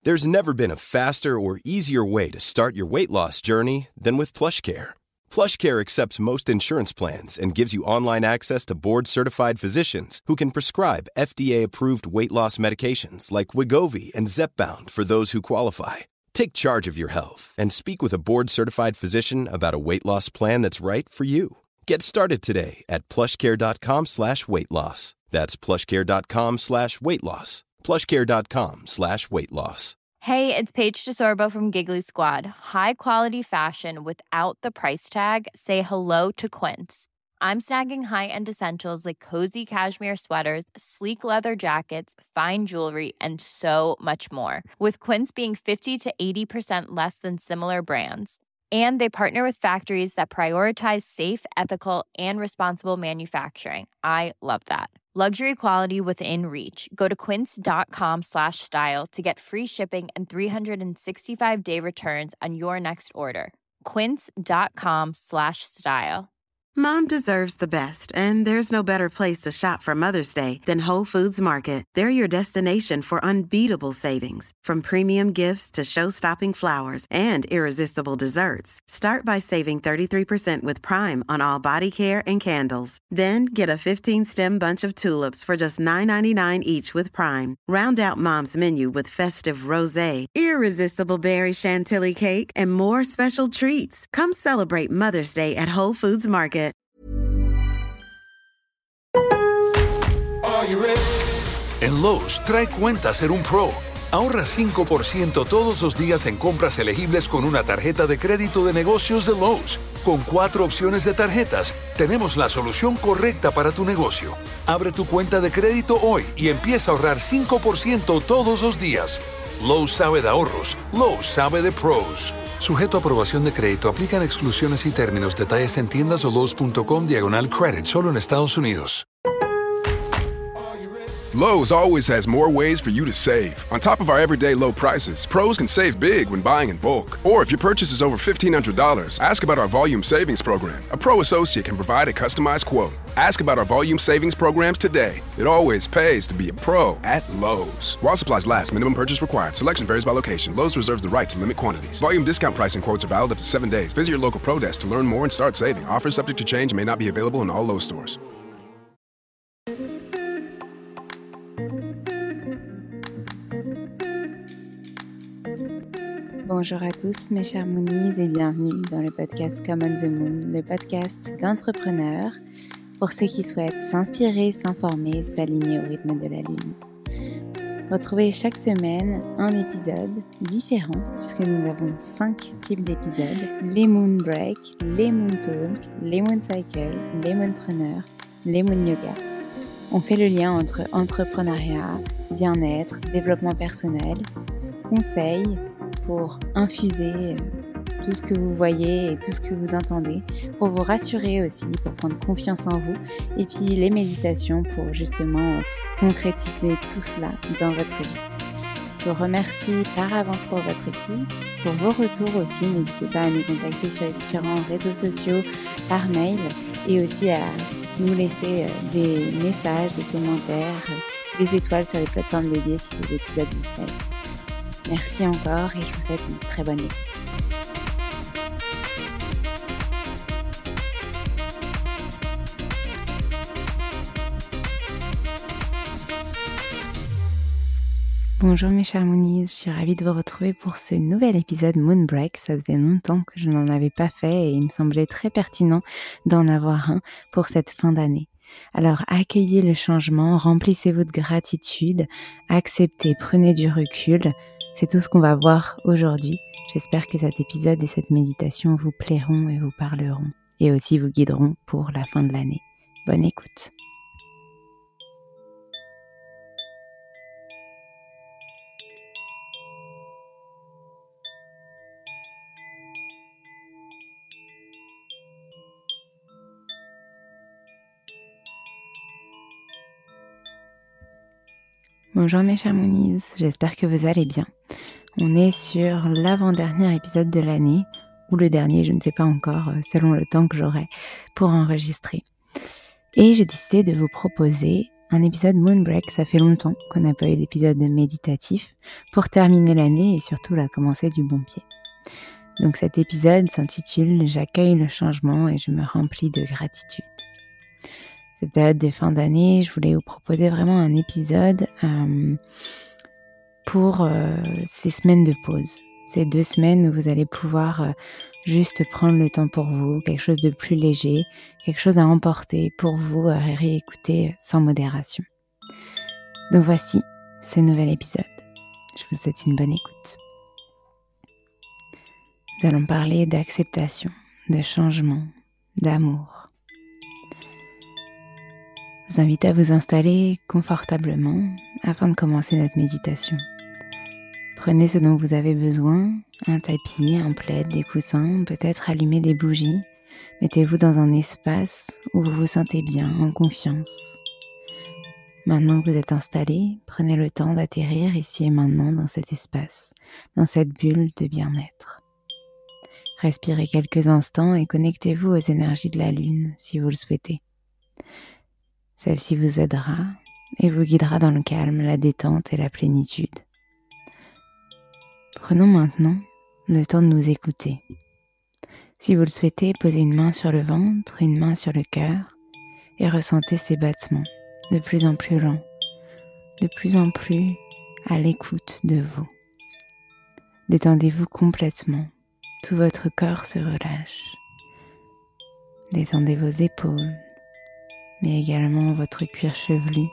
There's never been a faster or easier way to start your weight loss journey than with PlushCare. PlushCare accepts most insurance plans and gives you online access to board-certified physicians who can prescribe FDA-approved weight loss medications like Wegovy and Zepbound for those who qualify. Take charge of your health and speak with a board-certified physician about a weight loss plan that's right for you. Get started today at plushcare.com/weight-loss. That's plushcare.com/weight-loss. plushcare.com/weight-loss. Hey, it's Paige DeSorbo from Giggly Squad. High quality fashion without the price tag. Say hello to Quince. I'm snagging high-end essentials like cozy cashmere sweaters, sleek leather jackets, fine jewelry, and so much more. With Quince being 50 to 80% less than similar brands. And they partner with factories that prioritize safe, ethical, and responsible manufacturing. I love that. Luxury quality within reach. Go to quince.com/style to get free shipping and 365-day returns on your next order. Quince.com/style. Mom deserves the best, and there's no better place to shop for Mother's Day than Whole Foods Market. They're your destination for unbeatable savings, from premium gifts to show-stopping flowers and irresistible desserts. Start by saving 33% with Prime on all body care and candles. Then get a 15-stem bunch of tulips for just $9.99 each with Prime. Round out Mom's menu with festive rosé, irresistible berry chantilly cake, and more special treats. Come celebrate Mother's Day at Whole Foods Market. En Lowe's, trae cuenta ser un pro. Ahorra 5% todos los días en compras elegibles con una tarjeta de crédito de negocios de Lowe's. Con 4 opciones de tarjetas, tenemos la solución correcta para tu negocio. Abre tu cuenta de crédito hoy y empieza a ahorrar 5% todos los días. Lowe's sabe de ahorros. Lowe's sabe de pros. Sujeto a aprobación de crédito, aplican exclusiones y términos. Detalles en tiendas o Lowe's.com/credit, solo en Estados Unidos. Lowe's always has more ways for you to save. On top of our everyday low prices, pros can save big when buying in bulk. Or if your purchase is over $1,500, ask about our Volume Savings Program. A pro associate can provide a customized quote. Ask about our Volume Savings Programs today. It always pays to be a pro at Lowe's. While supplies last, minimum purchase required. Selection varies by location. Lowe's reserves the right to limit quantities. Volume discount pricing quotes are valid up to 7 days. Visit your local pro desk to learn more and start saving. Offers subject to change and may not be available in all Lowe's stores. Bonjour à tous mes chers Moonies et bienvenue dans le podcast Come on the Moon, le podcast d'entrepreneurs pour ceux qui souhaitent s'inspirer, s'informer, s'aligner au rythme de la Lune. Retrouvez chaque semaine un épisode différent puisque nous avons 5 types d'épisodes, les Moon Break, les Moon Talk, les Moon Cycle, les Moonpreneurs, les Moon Yoga. On fait le lien entre entrepreneuriat, bien-être, développement personnel, conseils, pour infuser tout ce que vous voyez et tout ce que vous entendez, pour vous rassurer aussi, pour prendre confiance en vous, et puis les méditations pour justement concrétiser tout cela dans votre vie. Je vous remercie par avance pour votre écoute, pour vos retours aussi, n'hésitez pas à nous contacter sur les différents réseaux sociaux, par mail, et aussi à nous laisser des messages, des commentaires, des étoiles sur les plateformes dédiées si ces épisodes vous plaisent. Merci encore et je vous souhaite une très bonne écoute. Bonjour mes chers Moonies, je suis ravie de vous retrouver pour ce nouvel épisode Moon Break. Ça faisait longtemps que je n'en avais pas fait et il me semblait très pertinent d'en avoir un pour cette fin d'année. Alors accueillez le changement, remplissez-vous de gratitude, acceptez, prenez du recul. C'est tout ce qu'on va voir aujourd'hui. J'espère que cet épisode et cette méditation vous plairont et vous parleront et aussi vous guideront pour la fin de l'année. Bonne écoute. Bonjour mes chers Moonies, j'espère que vous allez bien. On est sur l'avant-dernier épisode de l'année, ou le dernier, je ne sais pas encore, selon le temps que j'aurai pour enregistrer. Et j'ai décidé de vous proposer un épisode Moonbreak. Ça fait longtemps qu'on n'a pas eu d'épisode méditatif pour terminer l'année et surtout la commencer du bon pied. Donc cet épisode s'intitule « J'accueille le changement et je me remplis de gratitude ». Cette période de fin d'année, je voulais vous proposer vraiment un épisode pour ces semaines de pause. Ces 2 semaines où vous allez pouvoir juste prendre le temps pour vous, quelque chose de plus léger, quelque chose à emporter pour vous, à réécouter sans modération. Donc voici ce nouvel épisode. Je vous souhaite une bonne écoute. Nous allons parler d'acceptation, de changement, d'amour. Je vous invite à vous installer confortablement afin de commencer notre méditation. Prenez ce dont vous avez besoin, un tapis, un plaid, des coussins, peut-être allumer des bougies. Mettez-vous dans un espace où vous vous sentez bien, en confiance. Maintenant que vous êtes installé, prenez le temps d'atterrir ici et maintenant dans cet espace, dans cette bulle de bien-être. Respirez quelques instants et connectez-vous aux énergies de la lune si vous le souhaitez. Celle-ci vous aidera et vous guidera dans le calme, la détente et la plénitude. Prenons maintenant le temps de nous écouter. Si vous le souhaitez, posez une main sur le ventre, une main sur le cœur et ressentez ces battements de plus en plus lents, de plus en plus à l'écoute de vous. Détendez-vous complètement, tout votre corps se relâche. Détendez vos épaules, mais également votre cuir chevelu,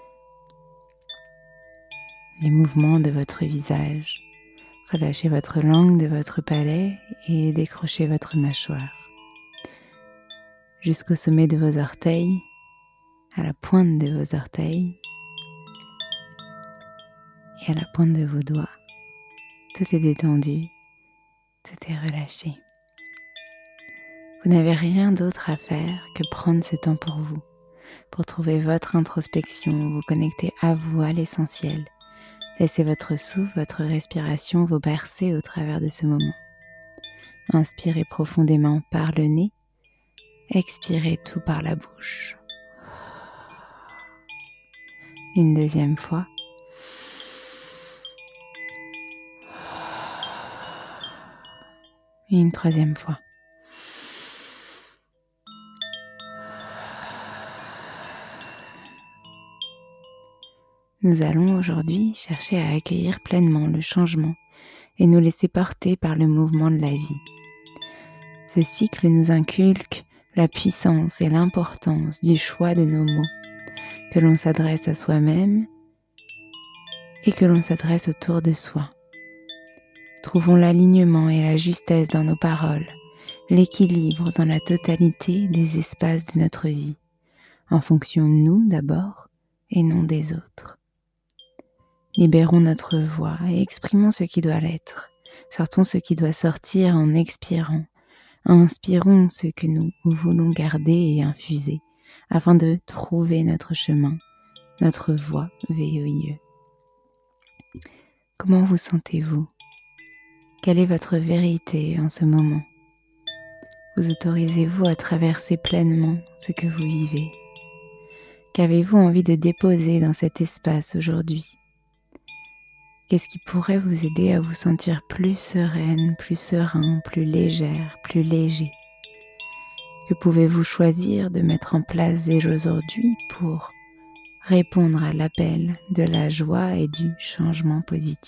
les mouvements de votre visage. Relâchez votre langue de votre palais et décrochez votre mâchoire. Jusqu'au sommet de vos orteils, à la pointe de vos orteils et à la pointe de vos doigts. Tout est détendu, tout est relâché. Vous n'avez rien d'autre à faire que prendre ce temps pour trouver votre introspection, vous connecter à vous, à l'essentiel. Laissez votre souffle, votre respiration vous bercer au travers de ce moment. Inspirez profondément par le nez, expirez tout par la bouche. Une deuxième fois. Et une troisième fois. Nous allons aujourd'hui chercher à accueillir pleinement le changement et nous laisser porter par le mouvement de la vie. Ce cycle nous inculque la puissance et l'importance du choix de nos mots, que l'on s'adresse à soi-même et que l'on s'adresse autour de soi. Trouvons l'alignement et la justesse dans nos paroles, l'équilibre dans la totalité des espaces de notre vie, en fonction de nous d'abord et non des autres. Libérons notre voix et exprimons ce qui doit l'être. Sortons ce qui doit sortir en expirant. Inspirons ce que nous voulons garder et infuser afin de trouver notre chemin, notre voie VOIE. Comment vous sentez-vous ? Quelle est votre vérité en ce moment ? Vous autorisez-vous à traverser pleinement ce que vous vivez ? Qu'avez-vous envie de déposer dans cet espace aujourd'hui ? Qu'est-ce qui pourrait vous aider à vous sentir plus sereine, plus serein, plus légère, plus léger ? Que pouvez-vous choisir de mettre en place dès aujourd'hui pour répondre à l'appel de la joie et du changement positif ?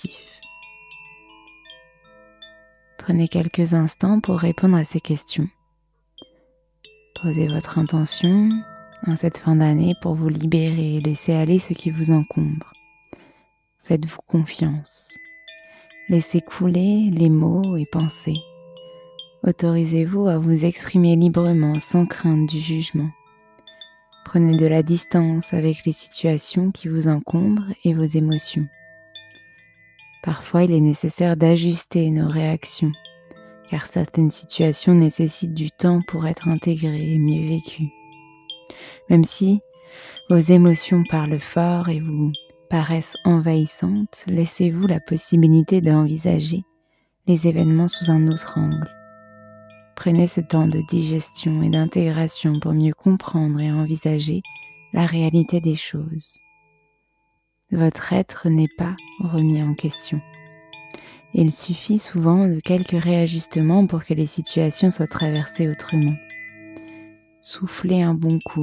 Prenez quelques instants pour répondre à ces questions. Posez votre intention en cette fin d'année pour vous libérer et laisser aller ce qui vous encombre. Faites-vous confiance. Laissez couler les mots et pensées. Autorisez-vous à vous exprimer librement sans crainte du jugement. Prenez de la distance avec les situations qui vous encombrent et vos émotions. Parfois, il est nécessaire d'ajuster nos réactions, car certaines situations nécessitent du temps pour être intégrées et mieux vécues. Même si vos émotions parlent fort et vous paraissent envahissantes, laissez-vous la possibilité d'envisager les événements sous un autre angle. Prenez ce temps de digestion et d'intégration pour mieux comprendre et envisager la réalité des choses. Votre être n'est pas remis en question. Il suffit souvent de quelques réajustements pour que les situations soient traversées autrement. Soufflez un bon coup.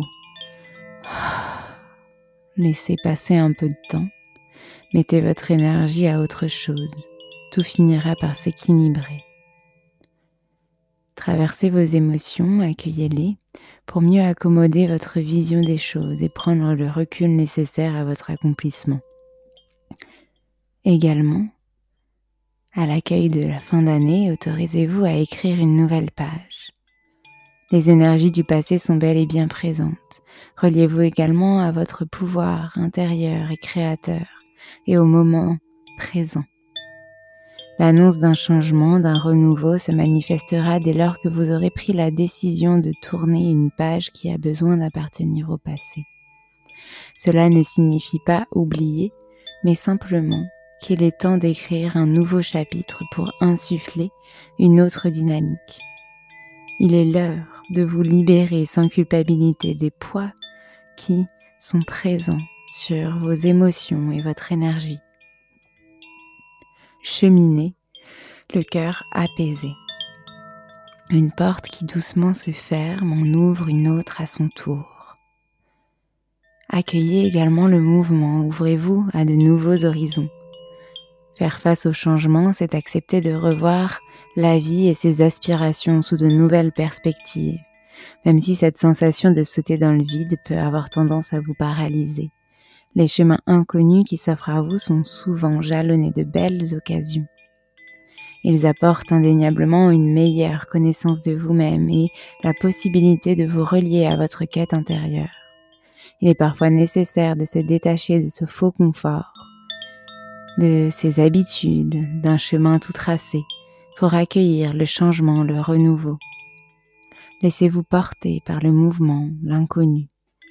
Laissez passer un peu de temps. Mettez votre énergie à autre chose. Tout finira par s'équilibrer. Traversez vos émotions, accueillez-les pour mieux accommoder votre vision des choses et prendre le recul nécessaire à votre accomplissement. Également, à l'accueil de la fin d'année, autorisez-vous à écrire une nouvelle page. Les énergies du passé sont bel et bien présentes. Reliez-vous également à votre pouvoir intérieur et créateur et au moment présent. L'annonce d'un changement, d'un renouveau se manifestera dès lors que vous aurez pris la décision de tourner une page qui a besoin d'appartenir au passé. Cela ne signifie pas oublier, mais simplement qu'il est temps d'écrire un nouveau chapitre pour insuffler une autre dynamique. Il est l'heure de vous libérer sans culpabilité des poids qui sont présents sur vos émotions et votre énergie. Cheminez, le cœur apaisé. Une porte qui doucement se ferme en ouvre une autre à son tour. Accueillez également le mouvement, ouvrez-vous à de nouveaux horizons. Faire face au changement, c'est accepter de revoir la vie et ses aspirations sous de nouvelles perspectives, même si cette sensation de sauter dans le vide peut avoir tendance à vous paralyser. Les chemins inconnus qui s'offrent à vous sont souvent jalonnés de belles occasions. Ils apportent indéniablement une meilleure connaissance de vous-même et la possibilité de vous relier à votre quête intérieure. Il est parfois nécessaire de se détacher de ce faux confort, de ses habitudes, d'un chemin tout tracé, pour accueillir le changement, le renouveau. Laissez-vous porter par le mouvement, l'inconnu.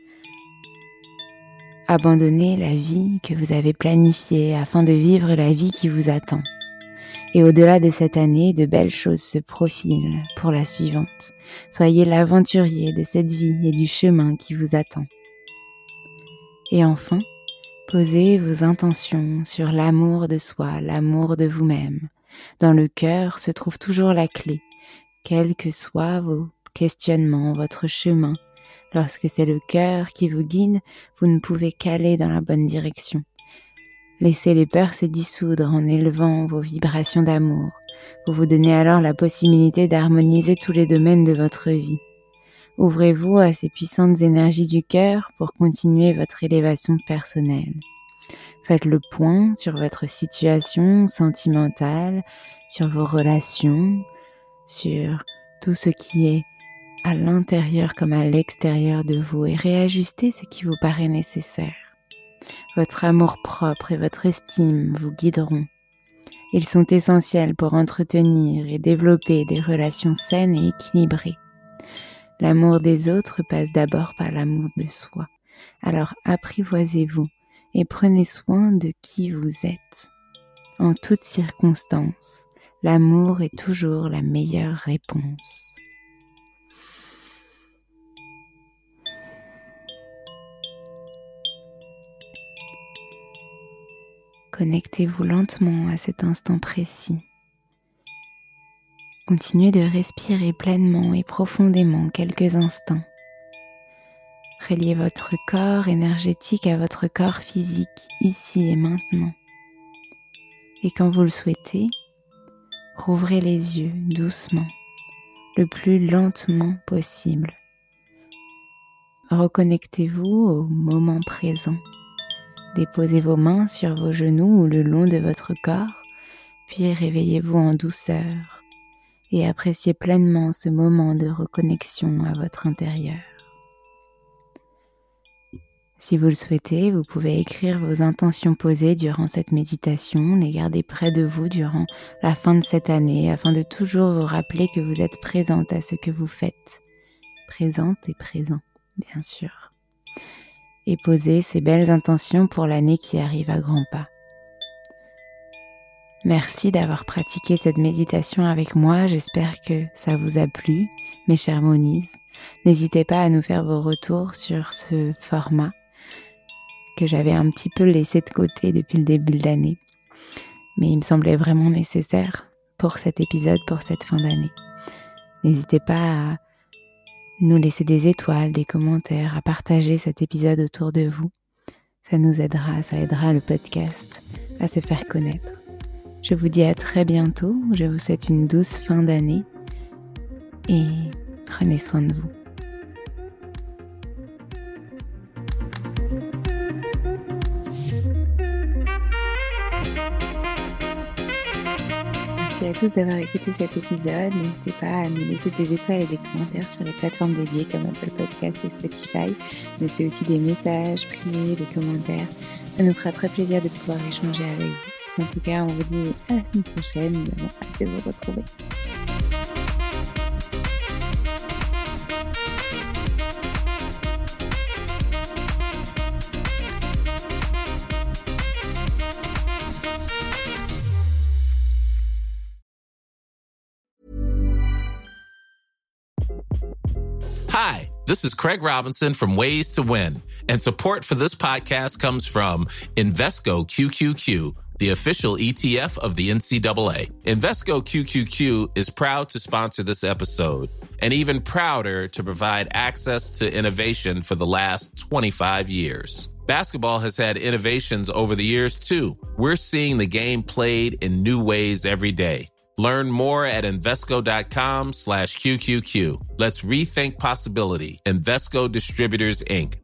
Abandonnez la vie que vous avez planifiée afin de vivre la vie qui vous attend. Et au-delà de cette année, de belles choses se profilent pour la suivante. Soyez l'aventurier de cette vie et du chemin qui vous attend. Et enfin, posez vos intentions sur l'amour de soi, l'amour de vous-même. Dans le cœur se trouve toujours la clé, quels que soient vos questionnements, votre chemin. Lorsque c'est le cœur qui vous guide, vous ne pouvez qu'aller dans la bonne direction. Laissez les peurs se dissoudre en élevant vos vibrations d'amour. Vous vous donnez alors la possibilité d'harmoniser tous les domaines de votre vie. Ouvrez-vous à ces puissantes énergies du cœur pour continuer votre élévation personnelle. Faites le point sur votre situation sentimentale, sur vos relations, sur tout ce qui est à l'intérieur comme à l'extérieur de vous et réajustez ce qui vous paraît nécessaire. Votre amour-propre et votre estime vous guideront. Ils sont essentiels pour entretenir et développer des relations saines et équilibrées. L'amour des autres passe d'abord par l'amour de soi. Alors apprivoisez-vous et prenez soin de qui vous êtes. En toutes circonstances, l'amour est toujours la meilleure réponse. Connectez-vous lentement à cet instant précis. Continuez de respirer pleinement et profondément quelques instants. Reliez votre corps énergétique à votre corps physique, ici et maintenant. Et quand vous le souhaitez, rouvrez les yeux doucement, le plus lentement possible. Reconnectez-vous au moment présent. Déposez vos mains sur vos genoux ou le long de votre corps, puis réveillez-vous en douceur et appréciez pleinement ce moment de reconnexion à votre intérieur. Si vous le souhaitez, vous pouvez écrire vos intentions posées durant cette méditation, les garder près de vous durant la fin de cette année afin de toujours vous rappeler que vous êtes présente à ce que vous faites. Présente et présent, bien sûr. Et posez ces belles intentions pour l'année qui arrive à grands pas. Merci d'avoir pratiqué cette méditation avec moi, j'espère que ça vous a plu. mes chers Moonies. N'hésitez pas à nous faire vos retours sur ce format que j'avais un petit peu laissé de côté depuis le début de l'année. Mais il me semblait vraiment nécessaire pour cet épisode, pour cette fin d'année. N'hésitez pas à nous laisser des étoiles, des commentaires, à partager cet épisode autour de vous. Ça nous aidera, ça aidera le podcast à se faire connaître. Je vous dis à très bientôt, je vous souhaite une douce fin d'année et prenez soin de vous. Merci à tous d'avoir écouté cet épisode. N'hésitez pas à nous laisser des étoiles et des commentaires sur les plateformes dédiées comme Apple Podcast et Spotify. Mais c'est aussi des messages privés, des commentaires. Ça nous fera très plaisir de pouvoir échanger avec vous. En tout cas, on vous dit à la semaine prochaine. Nous avons hâte de vous retrouver. Hi, this is Craig Robinson from Ways to Win, and support for this podcast comes from Invesco QQQ, the official ETF of the NCAA. Invesco QQQ is proud to sponsor this episode, and even prouder to provide access to innovation for the last 25 years. Basketball has had innovations over the years, too. We're seeing the game played in new ways every day. Learn more at Invesco.com/QQQ. Let's rethink possibility. Invesco Distributors, Inc.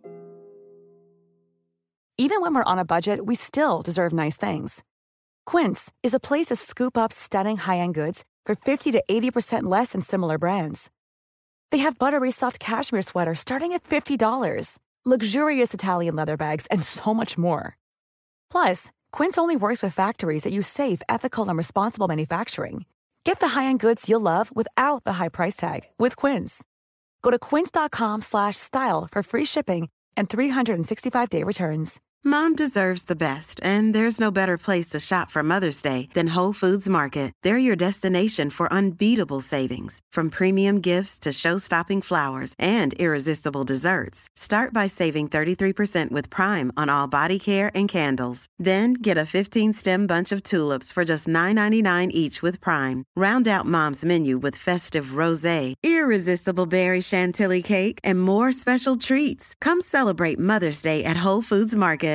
Even when we're on a budget, we still deserve nice things. Quince is a place to scoop up stunning high-end goods for 50 to 80% less than similar brands. They have buttery soft cashmere sweaters starting at $50, luxurious Italian leather bags, and so much more. Plus, Quince only works with factories that use safe, ethical, and responsible manufacturing. Get the high-end goods you'll love without the high price tag with Quince. Go to quince.com/style for free shipping and 365-day returns. Mom deserves the best, and there's no better place to shop for Mother's Day than Whole Foods Market. They're your destination for unbeatable savings, from premium gifts to show-stopping flowers and irresistible desserts. Start by saving 33% with Prime on all body care and candles. Then get a 15-stem bunch of tulips for just $9.99 each with Prime. Round out Mom's menu with festive rosé, irresistible berry chantilly cake, and more special treats. Come celebrate Mother's Day at Whole Foods Market.